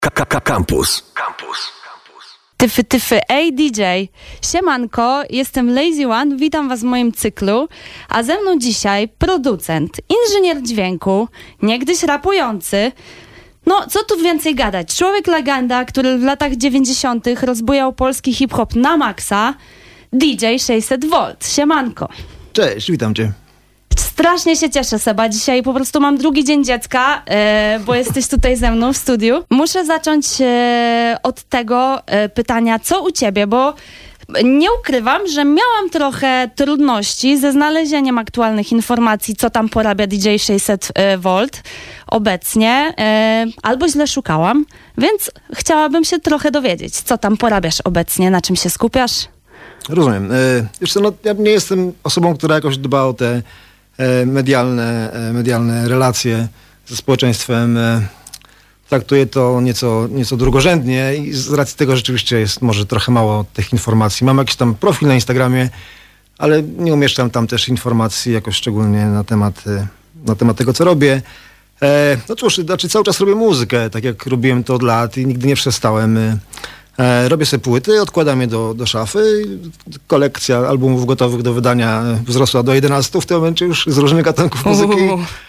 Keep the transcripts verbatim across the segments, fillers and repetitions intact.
Campus. Campus. Tyfy, tyfy, ej D J, siemanko, jestem Lazy One, witam was w moim cyklu, a ze mną dzisiaj producent, inżynier dźwięku, niegdyś rapujący, no co tu więcej gadać, człowiek legenda, który w latach dziewięćdziesiątych rozbujał polski hip-hop na maksa, D J sześćset wolt, siemanko. Cześć, witam cię. Strasznie się cieszę, Seba. Dzisiaj po prostu mam drugi dzień dziecka, e, bo jesteś tutaj ze mną w studiu. Muszę zacząć e, od tego e, pytania, co u ciebie, bo nie ukrywam, że miałam trochę trudności ze znalezieniem aktualnych informacji, co tam porabia D J sześćset wolt obecnie, e, albo źle szukałam, więc chciałabym się trochę dowiedzieć, co tam porabiasz obecnie, na czym się skupiasz? Rozumiem. E, wiesz co, no, ja nie jestem osobą, która jakoś dba o te medialne, medialne relacje ze społeczeństwem. Traktuję to nieco, nieco drugorzędnie i z racji tego rzeczywiście jest może trochę mało tych informacji. Mam jakiś tam profil na Instagramie, ale nie umieszczam tam też informacji jakoś szczególnie na temat, na temat tego, co robię. No cóż, znaczy cały czas robię muzykę, tak jak robiłem to od lat i nigdy nie przestałem. Robię sobie płyty, odkładam je do, do szafy. Kolekcja albumów gotowych do wydania wzrosła do jedenastu w tym momencie już z różnych gatunków muzyki.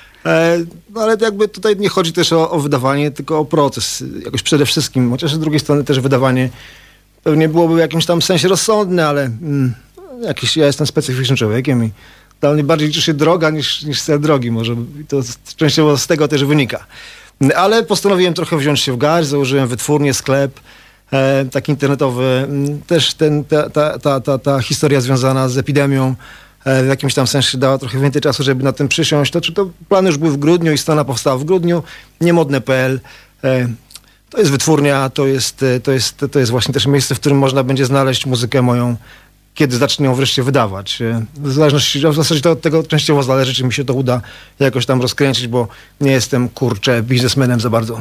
E, no ale jakby tutaj nie chodzi też o, o wydawanie, tylko o proces. Jakoś przede wszystkim, chociaż z drugiej strony też wydawanie pewnie byłoby w jakimś tam sensie rozsądne, ale mm, jakiś, ja jestem specyficznym człowiekiem i dla mnie bardziej liczy się droga niż, niż cel drogi może. I to częściowo z tego też wynika. Ale postanowiłem trochę wziąć się w garść, założyłem wytwórnię, sklep. E, taki internetowy, też ten, ta, ta, ta, ta, ta historia związana z epidemią e, w jakimś tam sensie dała trochę więcej czasu, żeby na tym przysiąść. To, czy to plany już były w grudniu i strona powstała w grudniu, niemodne kropka pe el. E, to jest wytwórnia, to jest, to, jest, to jest właśnie też miejsce, w którym można będzie znaleźć muzykę moją, kiedy zacznę ją wreszcie wydawać. E, w zależności, w zasadzie to od tego częściowo zależy, czy mi się to uda jakoś tam rozkręcić, bo nie jestem, kurczę, biznesmenem za bardzo.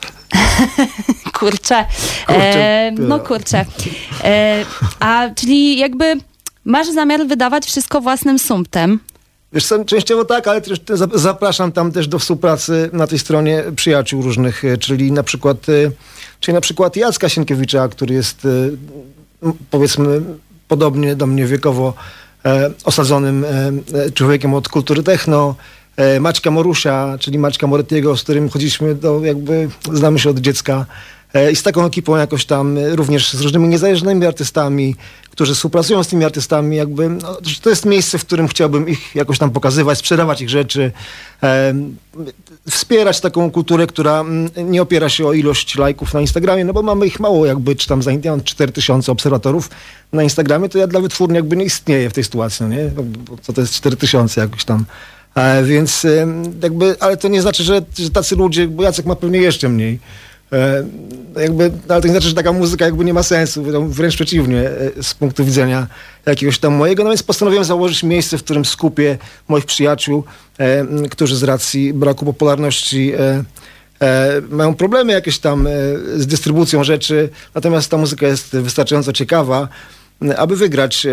Kurczę. E, no kurczę. E, a czyli jakby masz zamiar wydawać wszystko własnym sumptem? Wiesz co, częściowo tak, ale też zapraszam tam też do współpracy na tej stronie przyjaciół różnych, czyli na przykład, czyli na przykład Jacka Sienkiewicza, który jest powiedzmy podobnie do mnie wiekowo osadzonym człowiekiem od kultury techno, Maćka Morusia, czyli Maćka Morettiego, z którym chodziliśmy do, jakby znamy się od dziecka i z taką ekipą jakoś tam również z różnymi niezależnymi artystami, którzy współpracują z tymi artystami, jakby no, to jest miejsce, w którym chciałbym ich jakoś tam pokazywać, sprzedawać ich rzeczy, e, wspierać taką kulturę, która nie opiera się o ilość lajków na Instagramie, no bo mamy ich mało, jakby czy tam za cztery tysiące obserwatorów na Instagramie, to ja dla wytwórni jakby nie istnieję w tej sytuacji, no nie? Bo co to jest cztery tysiące jakoś tam. E, więc e, jakby, ale to nie znaczy, że, że tacy ludzie, bo Jacek ma pewnie jeszcze mniej, e, jakby, ale to nie znaczy, że taka muzyka jakby nie ma sensu, wręcz przeciwnie, e, z punktu widzenia jakiegoś tam mojego, no więc postanowiłem założyć miejsce, w którym skupię moich przyjaciół, e, którzy z racji braku popularności e, e, mają problemy jakieś tam e, z dystrybucją rzeczy, natomiast ta muzyka jest wystarczająco ciekawa, aby wygrać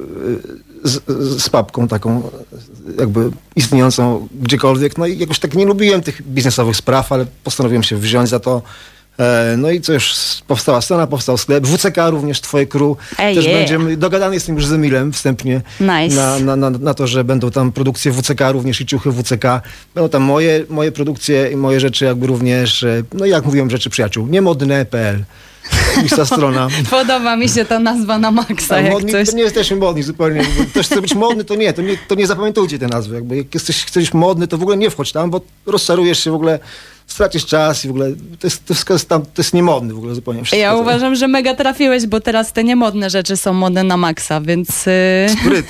z, z papką taką jakby istniejącą gdziekolwiek. No i jakoś tak nie lubiłem tych biznesowych spraw, ale postanowiłem się wziąć za to. No i co już powstała scena, powstał sklep. W C K również twoje crew Ej, też yeah. będziemy. Dogadany jestem już z Emilem wstępnie nice. na, na, na, na to, że będą tam produkcje W C K również i ciuchy W C K. Będą tam moje, moje produkcje i moje rzeczy jakby również, no jak mówiłem, rzeczy przyjaciół. niemodne kropka pe el. Ta strona. Podoba mi się ta nazwa na maksa, jak modni, coś. To nie jesteśmy modni zupełnie. Ktoś chce być modny, to nie, to nie, to nie zapamiętujcie tej nazwy. Jakby jak jesteś, chcesz być modny, to w ogóle nie wchodź tam, bo rozczarujesz się w ogóle, stracisz czas i w ogóle to jest, to jest, tam, to jest niemodny w ogóle zupełnie. Wszystko, ja to uważam, że mega trafiłeś, bo teraz te niemodne rzeczy są modne na maksa, więc... Spryt.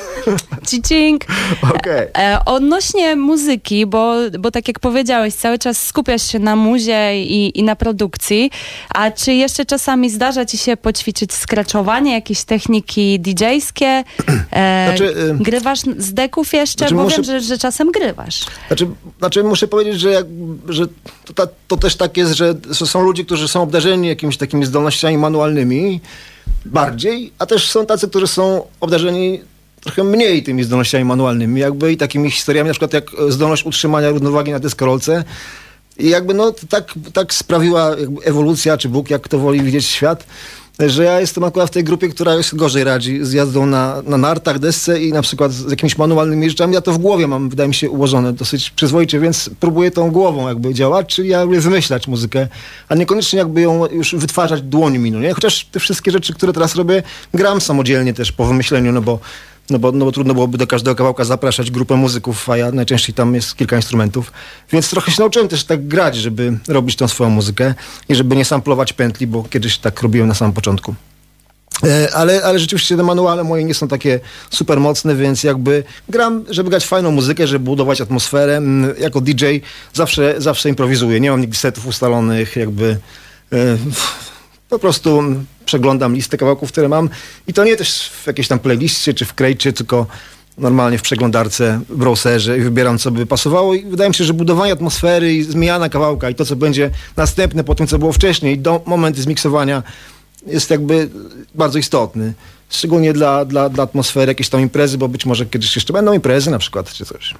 Cicing. Okay. E, odnośnie muzyki, bo, bo tak jak powiedziałeś, cały czas skupiasz się na muzie i, i na produkcji, a czy jeszcze czasami zdarza ci się poćwiczyć scratchowanie, jakieś techniki didżejskie? E, znaczy, y- grywasz z deków jeszcze? Znaczy, bo muszę... wiem, że, że czasem grywasz. Znaczy, znaczy muszę powiedzieć, że, jak, że to, ta, to też tak jest, że są ludzie, którzy są obdarzeni jakimiś takimi zdolnościami manualnymi bardziej, a też są tacy, którzy są obdarzeni trochę mniej tymi zdolnościami manualnymi, jakby i takimi historiami, na przykład jak zdolność utrzymania równowagi na deskorolce. I jakby no tak, tak sprawiła jakby ewolucja, czy Bóg, jak kto woli widzieć świat, że ja jestem akurat w tej grupie, która już gorzej radzi z jazdą na, na nartach, desce i na przykład z jakimiś manualnymi rzeczami. Ja to w głowie mam, wydaje mi się, ułożone dosyć przyzwoicie, więc próbuję tą głową jakby działać, czyli ja lubię wymyślać muzykę, a niekoniecznie jakby ją już wytwarzać dłońmi, no nie? Chociaż te wszystkie rzeczy, które teraz robię, gram samodzielnie też po wymyśleniu, no bo No bo, no bo trudno byłoby do każdego kawałka zapraszać grupę muzyków, a ja najczęściej tam jest kilka instrumentów. Więc trochę się nauczyłem też tak grać, żeby robić tą swoją muzykę i żeby nie samplować pętli, bo kiedyś tak robiłem na samym początku. E, ale, ale rzeczywiście te manuale moje nie są takie super mocne, więc jakby gram, żeby grać fajną muzykę, żeby budować atmosferę. Jako D J zawsze, zawsze improwizuję. Nie mam nigdy setów ustalonych, jakby... E, Po prostu przeglądam listę kawałków, które mam i to nie też w jakiejś tam playliście czy w krejcie, tylko normalnie w przeglądarce, w browserze i wybieram, co by pasowało i wydaje mi się, że budowanie atmosfery i zmiana kawałka i to, co będzie następne po tym, co było wcześniej, do momentu zmiksowania jest jakby bardzo istotny. Szczególnie dla, dla, dla atmosfery jakiejś tam imprezy, bo być może kiedyś jeszcze będą imprezy na przykład, czy coś.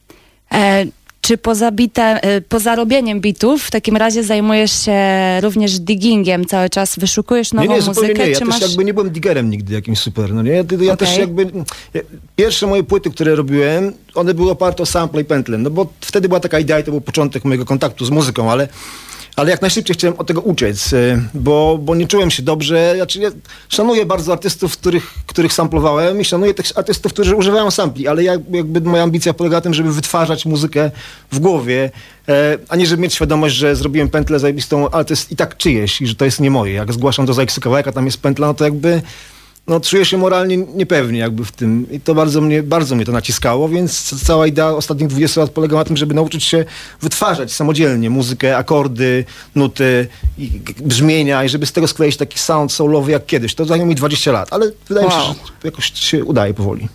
E Czy poza, bite, poza robieniem bitów w takim razie zajmujesz się również diggingiem cały czas? Wyszukujesz nową nie, nie, muzykę? Nie, ja czy też masz... jakby nie byłem diggerem nigdy jakimś super. No nie? Ja, ja okay. też jakby... Ja, pierwsze moje płyty, które robiłem, one były oparte o sample i pętlę. No bo wtedy była taka idea i to był początek mojego kontaktu z muzyką, ale... Ale jak najszybciej chciałem od tego uciec, bo, bo nie czułem się dobrze. Znaczy, ja szanuję bardzo artystów, których, których samplowałem i szanuję tych artystów, którzy używają sampli, ale ja, jakby moja ambicja polega na tym, żeby wytwarzać muzykę w głowie, a nie żeby mieć świadomość, że zrobiłem pętlę zajebistą, ale to jest i tak czyjeś i że to jest nie moje. Jak zgłaszam do Zajksy kawałek, a tam jest pętla, no to jakby... No, czuję się moralnie niepewnie jakby w tym i to bardzo mnie, bardzo mnie to naciskało, więc cała idea ostatnich dwudziestu lat polega na tym, żeby nauczyć się wytwarzać samodzielnie muzykę, akordy, nuty, i brzmienia i żeby z tego skleić taki sound soulowy jak kiedyś. To zajęło mi dwadzieścia lat, ale wydaje wow. mi się, że jakoś się udaje powoli.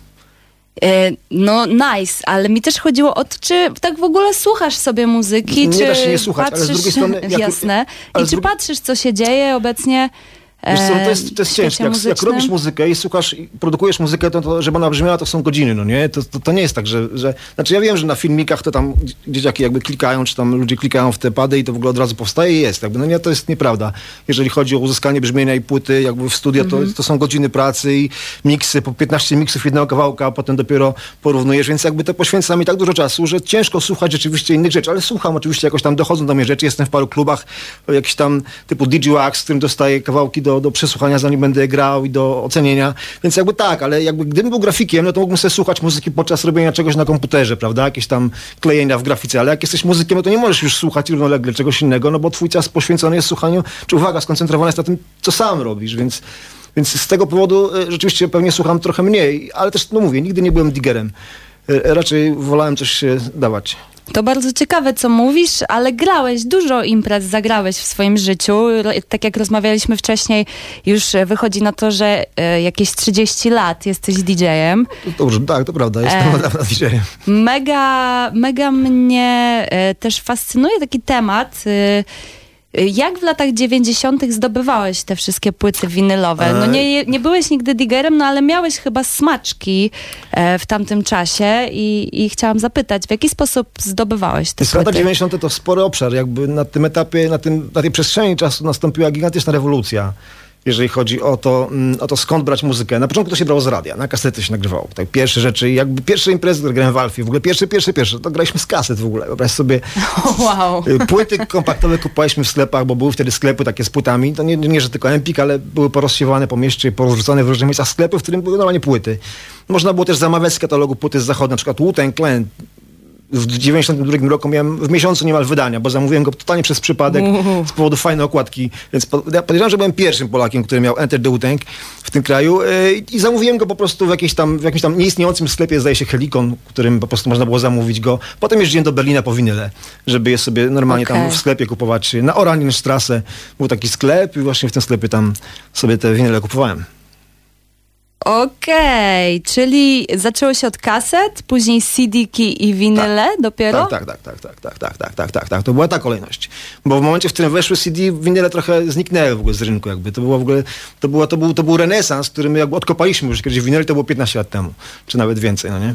No nice, ale mi też chodziło o to, czy tak w ogóle słuchasz sobie muzyki, nie czy da się nie słuchać, patrzysz, ale z drugiej strony... Jak, jasne. I czy drugi... patrzysz, co się dzieje obecnie? Wiesz co, to jest, to jest ciężkie. Jak, jak robisz muzykę i słuchasz, i produkujesz muzykę, to, to żeby ona brzmiała, to są godziny, no nie? To, to, to nie jest tak, że, że... Znaczy ja wiem, że na filmikach to tam dzieciaki jakby klikają, czy tam ludzie klikają w te pady i to w ogóle od razu powstaje i jest. Jakby, no nie, to jest nieprawda. Jeżeli chodzi o uzyskanie brzmienia i płyty jakby w studio, to, mm-hmm. to są godziny pracy i miksy, po piętnaście miksów jednego kawałka, a potem dopiero porównujesz, więc jakby to poświęca mi tak dużo czasu, że ciężko słuchać rzeczywiście innych rzeczy, ale słucham oczywiście, jakoś tam dochodzą do mnie rzeczy, jestem w paru klubach, jakiś tam typu D J Wax, z którym dostaję kawałki do, do przesłuchania, zanim będę grał i do ocenienia, więc jakby tak, ale jakby gdybym był grafikiem, no to mógłbym sobie słuchać muzyki podczas robienia czegoś na komputerze, prawda, jakieś tam klejenia w grafice, ale jak jesteś muzykiem, no to nie możesz już słuchać równolegle czegoś innego, no bo twój czas poświęcony jest słuchaniu, czy uwaga, skoncentrowany jest na tym, co sam robisz, więc, więc z tego powodu e, rzeczywiście pewnie słucham trochę mniej, ale też, no mówię, nigdy nie byłem diggerem. E, raczej wolałem coś się dawać. To bardzo ciekawe, co mówisz, ale grałeś, dużo imprez zagrałeś w swoim życiu. Tak jak rozmawialiśmy wcześniej, już wychodzi na to, że e, jakieś trzydzieści lat jesteś D J-em. Dobrze, tak, to prawda, jestem e, od D J-em. Mega, mega mnie e, też fascynuje taki temat. E, Jak w latach dziewięćdziesiątych zdobywałeś te wszystkie płyty winylowe? No nie, nie byłeś nigdy diggerem, no ale miałeś chyba smaczki e, w tamtym czasie i, i chciałam zapytać, w jaki sposób zdobywałeś te płyty? Lata dziewięćdziesiąte to spory obszar, jakby na tym etapie, na, tym, na tej przestrzeni czasu nastąpiła gigantyczna rewolucja, jeżeli chodzi o to, o to, skąd brać muzykę. Na początku to się brało z radia, na kasety się nagrywało. Tak, pierwsze rzeczy, jakby pierwsze imprezy, które grałem w Alfie, w ogóle pierwsze, pierwsze, pierwsze, to graliśmy z kaset w ogóle. Wyobraź sobie, wow. Płyty kompaktowe kupowaliśmy w sklepach, bo były wtedy sklepy takie z płytami, to nie, nie że tylko Empik, ale były porozsiewane po mieście, porozrzucane w różnych miejscach sklepy, w którym były normalnie płyty. Można było też zamawiać z katalogu płyty z zachodu, na przykład Wu-Tang Clan. W dziewięćdziesiątym drugim roku miałem w miesiącu niemal wydania, bo zamówiłem go totalnie przez przypadek uh. z powodu fajnej okładki. Więc po, ja podejrzewam, że byłem pierwszym Polakiem, który miał Enter the Wu-Tang w tym kraju yy, i zamówiłem go po prostu w, jakiejś tam, w jakimś tam nieistniejącym sklepie, zdaje się Helikon, w którym po prostu można było zamówić go. Potem jeździłem do Berlina po winyle, żeby je sobie normalnie okay. tam w sklepie kupować. Na Oranienstrasse był taki sklep i właśnie w tym sklepie tam sobie te winyle kupowałem. Okej, okay, czyli zaczęło się od kaset, później C D-ki i winyle tak, dopiero? Tak, tak, tak, tak, tak, tak, tak, tak, tak, tak. To była ta kolejność. Bo w momencie, w którym weszły C D, winyle trochę zniknęły w ogóle z rynku jakby. To było w ogóle, to, było, to, był, to był renesans, który my jakby odkopaliśmy już kiedyś winyle, to było piętnaście lat temu, czy nawet więcej, no nie?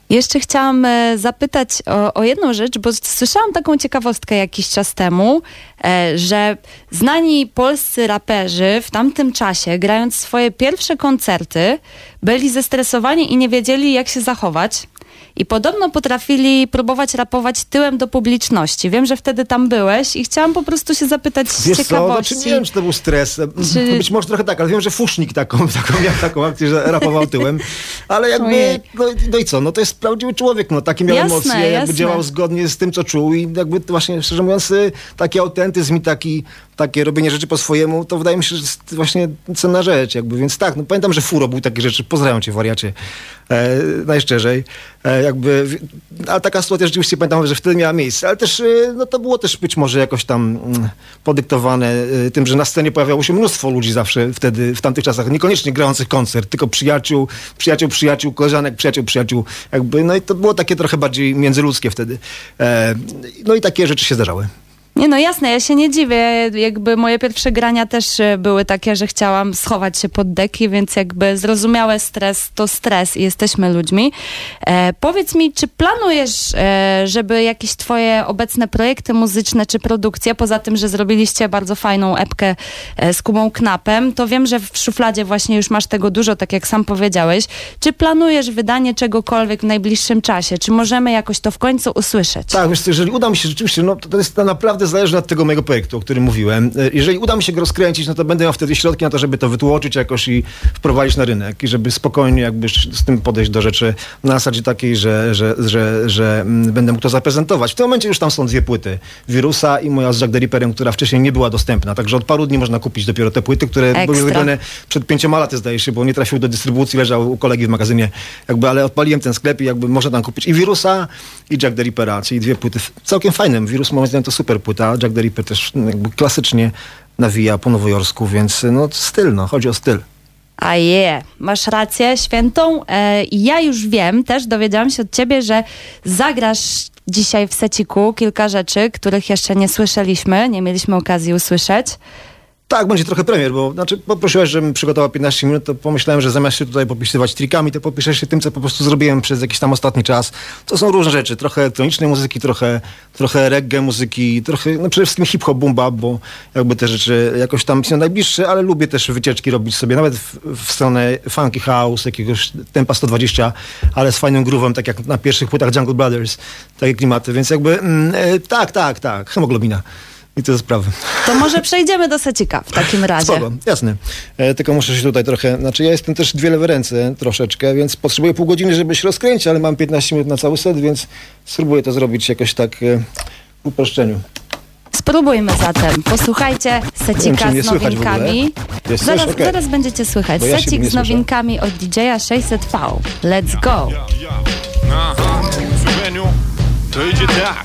Jeszcze chciałam e, zapytać o, o jedną rzecz, bo słyszałam taką ciekawostkę jakiś czas temu, e, że znani polscy raperzy w tamtym czasie, grając swoje pierwsze koncerty, byli zestresowani i nie wiedzieli, jak się zachować. I podobno potrafili próbować rapować tyłem do publiczności. Wiem, że wtedy tam byłeś i chciałam po prostu się zapytać z Wiesz ciekawości. Co? Znaczy, nie wiem, czy to był stres. Czy... Być może trochę tak, ale wiem, że Fusznik taką, taką miał taką akcję, że rapował tyłem. Ale jakby, no, no i co? No to jest prawdziwy człowiek, no takie miał jasne, emocje, jakby jasne. działał zgodnie z tym, co czuł i jakby właśnie, szczerze mówiąc, taki autentyzm i taki, takie robienie rzeczy po swojemu, to wydaje mi się, że jest właśnie cenna rzecz, jakby, więc tak, no pamiętam, że Furo był takie rzeczy, pozdrawiam cię, wariacie, e, najszczerzej, e, jakby, ale taka sytuacja rzeczywiście pamiętam, że wtedy miała miejsce, ale też, no to było też być może jakoś tam mm, podyktowane y, tym, że na scenie pojawiało się mnóstwo ludzi zawsze wtedy, w tamtych czasach, niekoniecznie grających koncert, tylko przyjaciół, przyjaciół, przyjaciół, koleżanek, przyjaciół, przyjaciół, jakby, no i to było takie trochę bardziej międzyludzkie wtedy, e, no i takie rzeczy się zdarzały. Nie no jasne, ja się nie dziwię, jakby moje pierwsze grania też były takie, że chciałam schować się pod deki, więc jakby zrozumiałe stres to stres i jesteśmy ludźmi. E, powiedz mi, czy planujesz, e, żeby jakieś twoje obecne projekty muzyczne czy produkcje, poza tym, że zrobiliście bardzo fajną epkę e, z Kubą Knapem, to wiem, że w szufladzie właśnie już masz tego dużo, tak jak sam powiedziałeś. Czy planujesz wydanie czegokolwiek w najbliższym czasie? Czy możemy jakoś to w końcu usłyszeć? Tak, wiesz co, jeżeli uda mi się rzeczywiście, no to, to jest to naprawdę zależy od tego mojego projektu, o którym mówiłem. Jeżeli uda mi się go rozkręcić, no to będę miał wtedy środki na to, żeby to wytłoczyć jakoś i wprowadzić na rynek i żeby spokojnie jakby z tym podejść do rzeczy na zasadzie takiej, że, że, że, że będę mógł to zaprezentować. W tym momencie już tam są dwie płyty. Wirusa i moja z Jack the Ripperem, która wcześniej nie była dostępna. Także od paru dni można kupić dopiero te płyty, które Ekstra. były wygrane przed pięcioma laty, zdaje się, bo nie trafiły do dystrybucji, leżał u kolegi w magazynie. Jakby, ale odpaliłem ten sklep i jakby można tam kupić i Wirusa, i Jack the Rippera, czyli dwie płyty całkiem fajne. Wirus moim zdaniem to super płyta, Jack the Ripper też jakby klasycznie nawija po nowojorsku, więc no styl, no, chodzi o styl. A je, masz rację świętą. E, ja już wiem, też dowiedziałam się od ciebie, że zagrasz dzisiaj w seciku kilka rzeczy, których jeszcze nie słyszeliśmy, nie mieliśmy okazji usłyszeć. Tak, będzie trochę premier, bo znaczy poprosiłeś, żebym przygotował piętnaście minut, to pomyślałem, że zamiast się tutaj popisywać trikami, to popiszę się tym, co po prostu zrobiłem przez jakiś tam ostatni czas. To są różne rzeczy, trochę elektronicznej muzyki, trochę, trochę reggae muzyki, trochę, no przede wszystkim hip-hop, boom bap, bo jakby te rzeczy jakoś tam są najbliższe, ale lubię też wycieczki robić sobie, nawet w, w stronę funky house, jakiegoś tempa sto dwadzieścia, ale z fajnym groovem, tak jak na pierwszych płytach Jungle Brothers, takie klimaty, więc jakby mm, e, tak, tak, tak, hemoglobina. I to sprawy. To może przejdziemy do secika w takim razie. Spoko, jasne. E, tylko muszę się tutaj trochę, znaczy ja jestem też dwie lewe ręce troszeczkę, więc potrzebuję pół godziny, żeby się rozkręcić, ale mam piętnaście minut na cały set, więc spróbuję to zrobić jakoś tak e, w uproszczeniu. Spróbujmy zatem. Posłuchajcie secika z nowinkami. Zaraz, okay. zaraz będziecie słychać. Ja secik z nowinkami od D J a sześćset V. Let's go! Aha, Słoweniu, to idzie tak.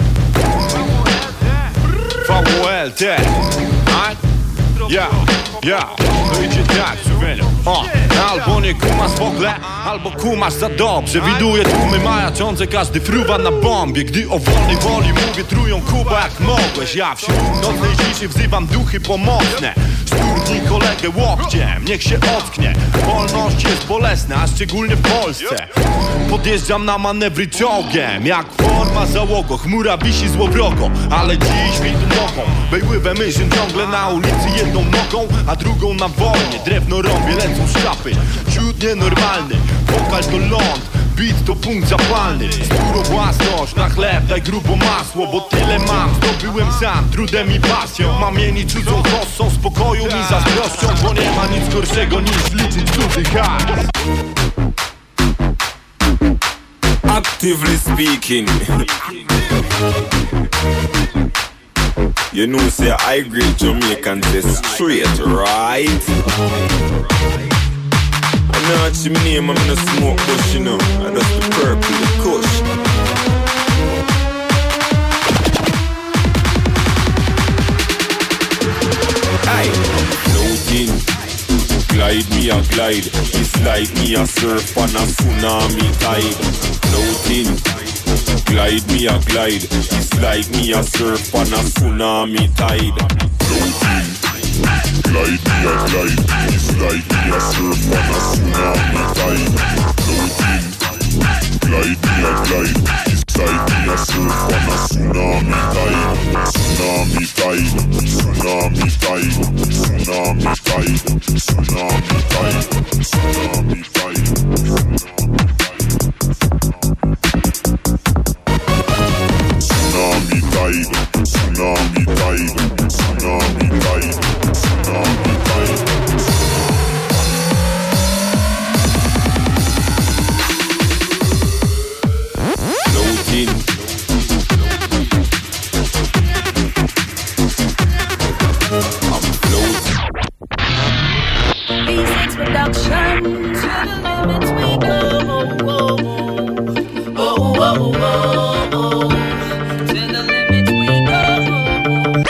V O L T, ja, ja, to idzie tak, Słoweniu. O, albo nie kumasz w ogóle, albo kumasz za dobrze. Widuję tłumy majaczące, każdy fruwa na bombie. Gdy o wolnej woli mówię, trują Kuba jak mogłeś. Ja wśród nocnej ciszy wzywam duchy pomocne. Sturni kolegę łokciem, niech się ocknie. Wolność jest bolesna, a szczególnie w Polsce. Podjeżdżam na manewry czołgiem, jak forma załogo. Chmura wisi złowrogo, ale dziś widzę nogą. Bejływę myśl ciągle na ulicy jedną nogą, a drugą na wojnie. Drewno rąbie, lecą szkapy. Ciut nienormalny, wokal to ląd, beat to punkt zapalny. Skóro własność, na chleb daj grubo masło, bo tyle mam, zdobyłem sam, trudem i pasją. Mam mieni cudzą kosą, spokoju mi zazdroszczą, bo nie ma nic gorszego niż liczyć cudzy hajs. Actively speaking, you know say I great Jamaicans is straight, right? I'm not your name, I'm not smoke bush, you know, and that's the purple, the kush. Aye, floating, glide me a glide, it's like me a surf on a tsunami tide. Floating, glide me a glide, it's like me a surf on a tsunami tide. Floating, glide me a glide, it's like me a surf on a tsunami tide. Floating, glide me a glide. Beside me a surf on a tsunami tide. Tsunami tide, tsunami tide, tsunami tide, tsunami tide, tsunami tide, tsunami tide, tsunami tide, tsunami tide, tsunami tide. Floating. I'm floating. Basics production, to the limits we go. Oh, oh, oh, oh, oh. To the limits we go.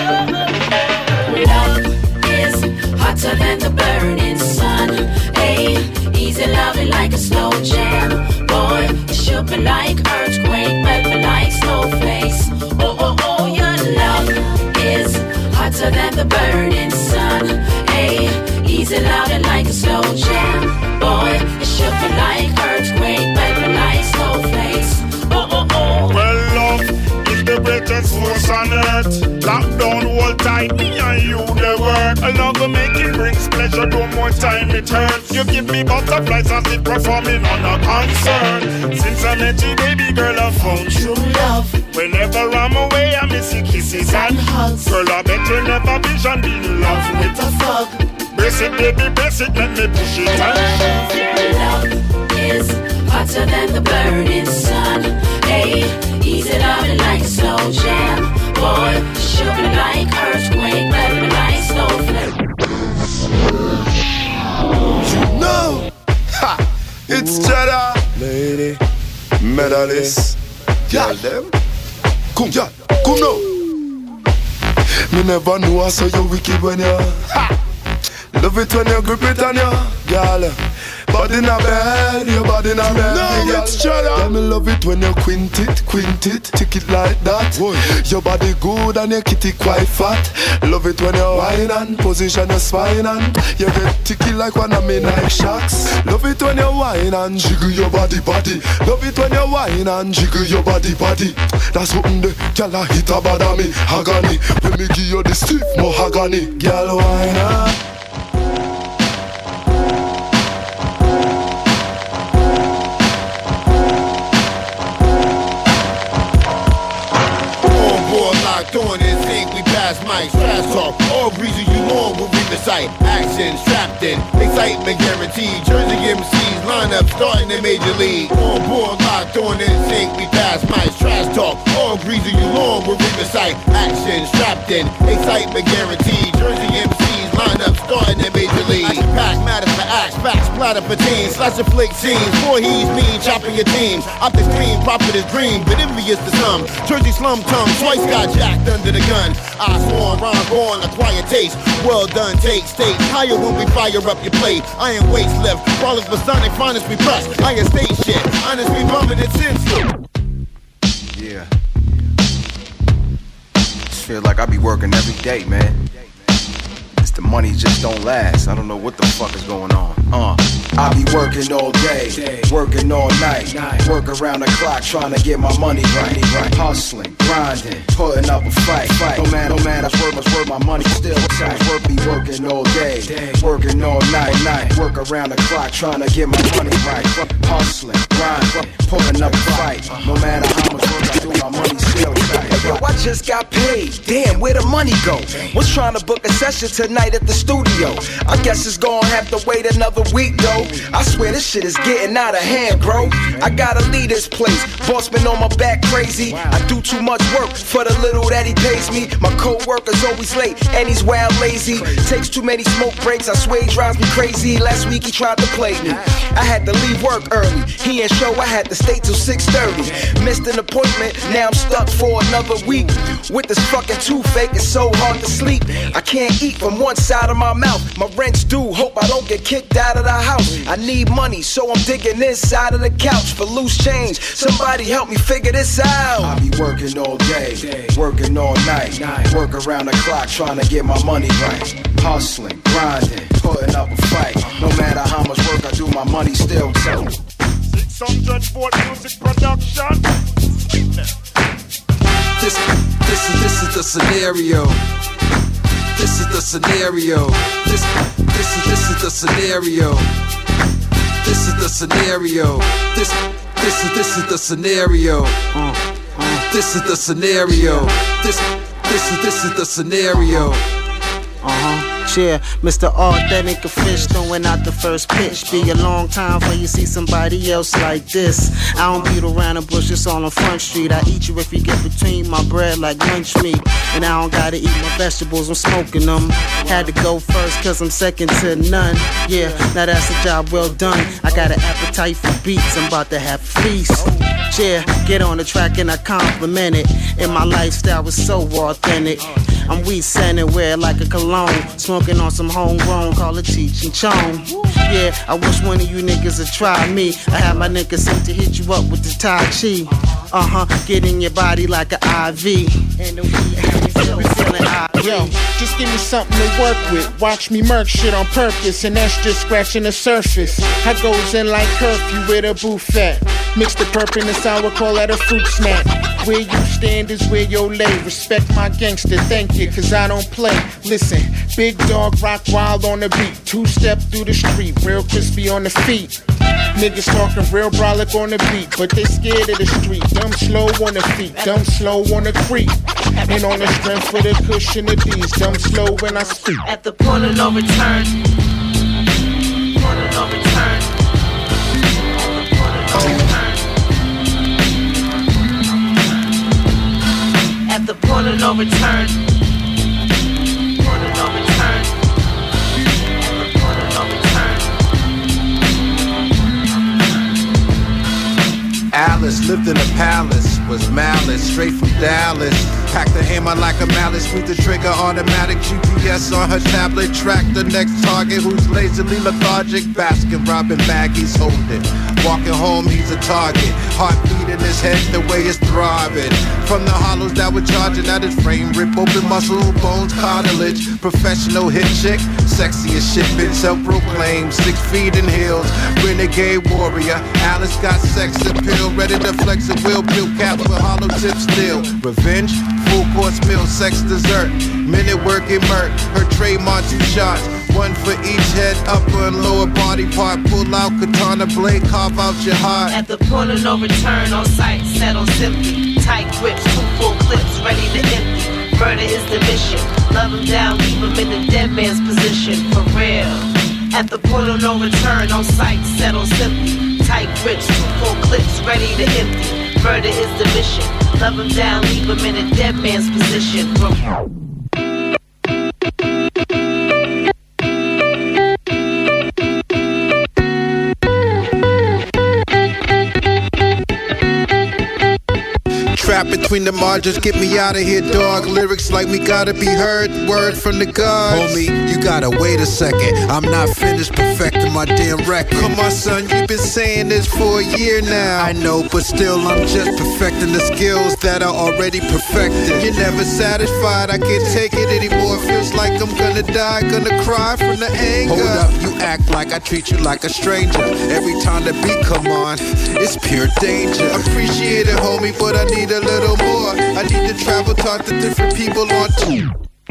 Love is hotter than the burning sun. Hey, easy loving like a slow jam. Boy, it should be like earthquake, but be like snowflakes. Oh, oh, oh, your love is hotter than the burning sun. Hey, easy loving like a slow jam. Boy, it should be like earthquake, but be like snowflakes. Oh, oh, oh. Well, love is the greatest force on earth. Lock down, hold tight, me and you the work. I love to make it brings pleasure, no more time it hurts. You give me butterflies as if performing on a concert. Since I met you, baby girl, I found true love. Whenever I'm away, I miss your kisses and hugs. Girl, I bet you never vision be in love with a thug. Brace it, baby, brace it, let me push it and love is hotter than the burning sun. Hey, easy loving like a slow jam. Boy, should be like earthquake, but be like snowflake. You know, ha, it's Cheddar, lady, medalist, y'all them, come, y'all, come now. Me never knew I saw you wicked when you, ha, love it when you grip it on you, girl. Body in a bed, your body in a bed. No, it's Cheddar. Yeah, me love it when you quint it, quint it, tick it like that. Boy. Your body good and your kitty quite fat. Love it when you whine and position your spine and you get ticky like one of me knife shocks. Love it when you whine and jiggle your body, body. Love it when you whine and jiggle your body, body. That's something the girl a hit a bad on me, agony. When me give you the stiff mahogany, girl whine and doing this thing, we pass mics, trash talk. All reason you long will be the sight. Action, strapped in, excitement guaranteed. Jersey M Cs line up, starting in Major League. On board, locked on in sync, we pass mics, trash talk. All reason you long will be the sight. Action, strapped in, excitement guaranteed. Jersey M Cs line up, starting in Major League. Pack matters for acts, facts, splatter for teams. Slash and flick scenes, four he's mean, chopping your teams. Off the screen, profit is dream, but envious to some. Jersey slum tongue, twice got jacked under the gun. I sworn, rhyme, born, acquire taste. Well done, take state. Higher when we fire up your plate. Iron waist lift, brawlers for sonic, finest we press. Iron state shit, honest we bumming it since. Yeah. Just feel like I be working every day, man. It's the money just don't last. I don't know what the fuck is going on. Uh, I be working all day, working all night, work around the clock trying to get my money right, right. Hustling, grinding, putting up a fight, fight. No matter, no matter, work, must work, my money still tight. Work be working all day, working all night, night. Work around the clock trying to get my money right. Hustling, grinding, putting up a fight. No matter how much work I do, my money still tight. Hey, yo, I just got paid. Damn, where the money go? Was trying to book a session tonight at the studio. I guess it's gonna have to wait another week though. I swear this shit is getting out of hand, bro. I gotta leave this place. Boss been on my back crazy. I do too much work for the little that he pays me. My co-worker's always late and he's wild lazy. Takes too many smoke breaks, I swear he drives me crazy. Last week he tried to play me. I had to leave work early. He ain't show, I had to stay till six thirty. Missed an appointment, now I'm stuck for another week. With this fucking toothache, it's so hard to sleep. I can't eat from one side of my mouth. My rent's due, hope I don't get kicked out of the house. I need money, so I'm digging inside of the couch for loose change. Somebody help me figure this out. I be working all day, working all night, work around the clock trying to get my money right. Hustling, grinding, putting up a fight. No matter how much work I do, my money still tight. six hundred volt music production. This, this is this is the scenario. This is the scenario. This, this is this is the scenario. This is the scenario. This, this is this is the scenario. Uh, uh, this is the scenario. This, this is this is the scenario. Uh-huh. Yeah, Mister Authentic Fish throwing out the first pitch. Be a long time before you see somebody else like this. I don't beat around the bush, it's all on Front Street. I eat you if you get between my bread like lunch meat. And I don't gotta eat my vegetables, I'm smoking them. Had to go first cause I'm second to none. Yeah, now that's a job well done. I got an appetite for beats, I'm about to have a feast. Yeah, get on the track and I compliment it. And my lifestyle was so authentic. I'm weed scented, wear like a cologne. Smoking on some homegrown, call it Cheech and Chong. Yeah, I wish one of you niggas would try me. I have my niggas sent to hit you up with the Tai Chi. Uh-huh, get in your body like an I V. And the weed have me feeling, feeling I V. Yo, just give me something to work with. Watch me murk shit on purpose, and that's just scratching the surface. I goes in like curfew with a buffet. Mix the purple and the sour, call that a fruit snack. Where you stand is where you lay. Respect my gangster, thank you, cause I don't play. Listen, big dog rock wild on the beat. Two step through the street, real crispy on the feet. Niggas talking real brolic on the beat, but they scared of the street. Dumb slow on the feet, dumb slow on the creep. And on the strength for the cushion of these, dumb slow when I speak. At the point of no return. Point of no return. At the point of no return. Point of no return. At the point of no return. Alice lived in a palace, was malice, straight from Dallas. Packed the hammer like a mallet, squeeze the trigger, automatic G P S on her tablet. Track the next target who's lazily lethargic. Baskin robbing baggies holding. Walking home, he's a target. Heartbeat in his head, the way it's throbbing. From the hollows that were charging at his frame, rip open muscle, bones, cartilage. Professional hit chick, sexy as shit, bitch, self-proclaimed. Six feet in heels, renegade warrior. Alice got sex appeal, ready to flex a wheel, bill cap with hollow tip steel. Revenge, full course meal, sex dessert. Minute working murk, her trademark two shots. One for each head, upper and lower body part. Pull out katana blade, carve out your heart. At the point of no return, on sight, settle simply. Tight grips, two full clips, ready to empty. Murder is the mission. Love him down, leave him in the dead man's position. For real. At the point of no return, on sight, settle simply. Tight grips, two full clips, ready to empty. Murder is the mission. Love him down, leave him in a dead man's position. For real. Trap between the margins, get me out of here, dog. Lyrics like we gotta be heard, word from the gods. Homie, you gotta wait a second. I'm not finished perfecting my damn record. Come on, son, you've been saying this for a year now. I know, but still, I'm just perfecting the skills that are already perfected. You're never satisfied, I can't take it anymore. Feels like I'm gonna die, gonna cry from the anger. Hold up, you act like I treat you like a stranger. Every time the beat come on, it's pure danger. Appreciate it, homie, but I need a little more. I need to travel, talk to different people on tour.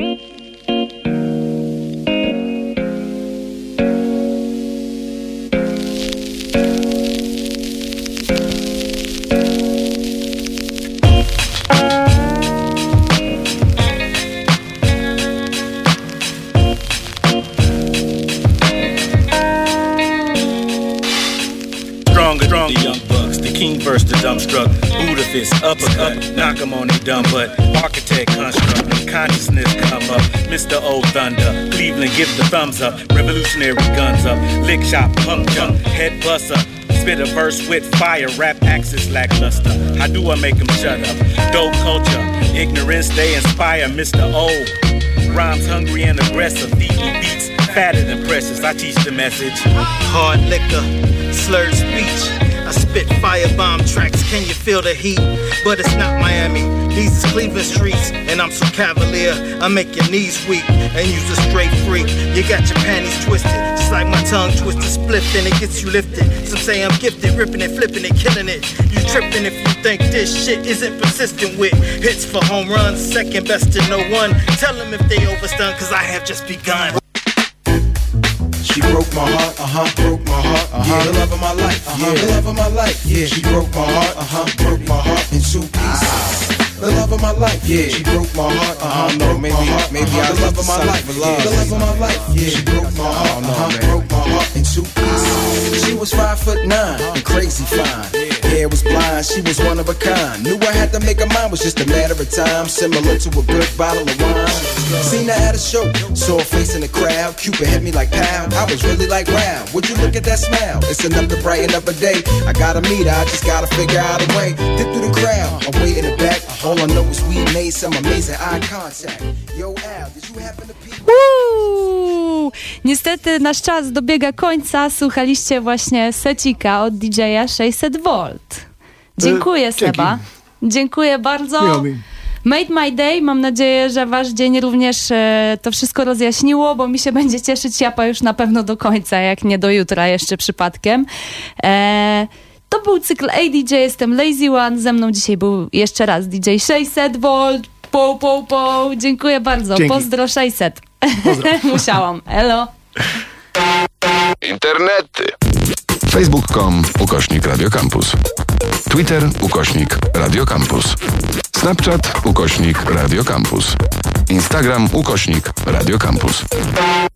King versus the dumbstruck, Buddha fist, uppercut, knock him on their dumb butt. Architect construct, when consciousness come up. Mister Old Thunder, Cleveland give the thumbs up. Revolutionary guns up, lick shop, pump jump, head buster. Spit a verse with fire, rap axis lackluster. How do I make them shut up? Dope culture, ignorance they inspire. Mister O, rhymes hungry and aggressive. Feed me beats, fatter than precious. I teach the message. Hard liquor, slurred speech. I spit firebomb tracks, can you feel the heat? But it's not Miami, these is Cleveland streets. And I'm so cavalier, I make your knees weak and use a straight freak. You got your panties twisted, just like my tongue twisted, split, and it gets you lifted. Some say I'm gifted, ripping it, flipping it, killing it. You tripping if you think this shit isn't persistent with hits for home runs, second best to no one. Tell them if they overstun, cause I have just begun. She broke my heart, uh-huh, broke my heart, uh-huh. Yeah, the love of my life, uh-huh, yeah, the love of my life, yeah. She broke my heart, uh-huh, broke my heart in two pieces. The love of my life, yeah. She broke my heart, uh-huh, no, maybe, heart, maybe uh-huh. I the love of my life, yeah. The love of my life, yeah. She broke my heart, uh-huh, broke my heart in two pieces. She was five foot nine and crazy fine. Hair was blind, she was one of a kind. Knew I had to make her mine, was just a matter of time. Similar to a good bottle of wine. Seen her at a show, saw her face in the crowd. Cupid hit me like pow, I was really like wow. Would you look at that smile? It's enough to brighten up a day. I gotta meet her, I just gotta figure out a way. Dip through the crowd, I'm way in the back. All I know is we made some amazing eye contact. Yo Al, did you happen to peep? Uuu, niestety nasz czas dobiega końca. Słuchaliście właśnie secika od D J-a sześćset volt. Dziękuję, Seba. Dziękuję bardzo. Miło mi. Made my day. Mam nadzieję, że wasz dzień również e, to wszystko rozjaśniło, bo mi się będzie cieszyć Japa już na pewno do końca, jak nie do jutra jeszcze przypadkiem. E, to był cykl A D J, jestem Lazy One. Ze mną dzisiaj był jeszcze raz D J sześćset volt. Po, po, po. Dziękuję bardzo. Dzięki. Pozdro sześćset. Pozdro. Musiałam. Elo. Internety. Facebook kropka com ukośnik Radio Campus. Twitter ukośnik Radio Campus. Snapchat ukośnik Radio Campus. Instagram ukośnik Radio Campus.